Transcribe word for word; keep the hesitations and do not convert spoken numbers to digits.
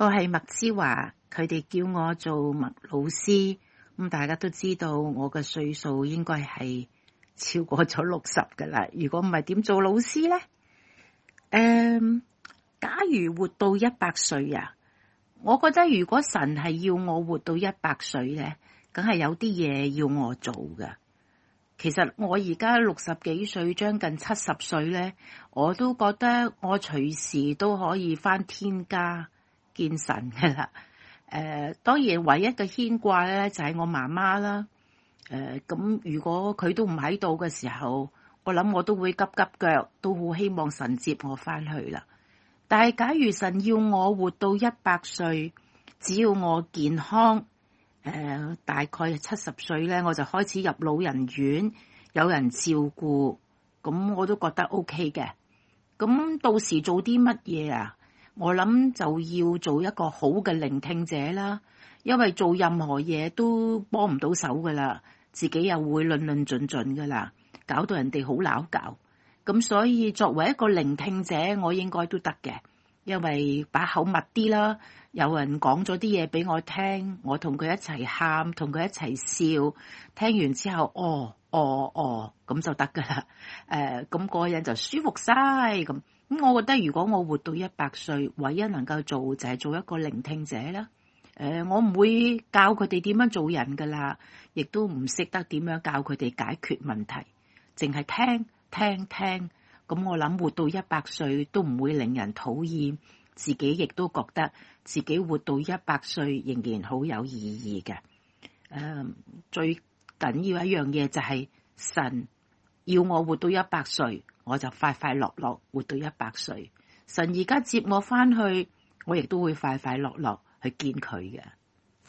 我係麥之華，佢哋叫我做麥老師。咁大家都知道我嘅歲數應該係超過咗六十噶啦。如果唔係點做老師呢？誒，假如活到一百歲啊，我覺得如果神係要我活到一百歲呢，梗係有啲嘢要我做噶。其實我而家六十幾歲，將近七十歲呢，我都覺得我隨時都可以返天家見神噶啦。誒、呃，當然唯一嘅牽掛咧就係我媽媽啦。誒、呃，咁如果佢都唔喺度嘅時候，我諗我都會急急腳，都好希望神接我返去啦。但係假如神要我活到一百歲，只要我健康，誒、呃，大概七十歲咧，我就開始入老人院，有人照顧，咁我都覺得 OK 嘅。咁到時做啲乜嘢啊？我諗就要做一個好嘅聆聽者啦，因為做任何嘢都幫唔到手噶啦，自己又會論論盡盡噶啦，搞到人哋好鬧交。咁所以作為一個聆聽者，我應該都得嘅，因為把口密啲啦，有人講咗啲嘢俾我聽，我同佢一齊喊，同佢一齊笑，聽完之後，哦哦哦，咁就得噶啦。誒、呃，咁嗰個人就舒服晒咁。咁我覺得如果我活到一百歲，唯一能夠做就係做一個聆聽者啦。誒、呃，我唔會教佢哋點樣做人噶啦，亦都唔識得點樣教佢哋解決問題，淨係聽聽聽。咁我諗活到一百歲都唔會令人討厭，自己亦都覺得自己活到一百歲仍然好有意義嘅。誒、呃，最緊要一樣嘢就係神要我活到一百歲。我就快快樂樂活到一百歲，神而家接我返去，我亦都會快快樂樂去見佢嘅。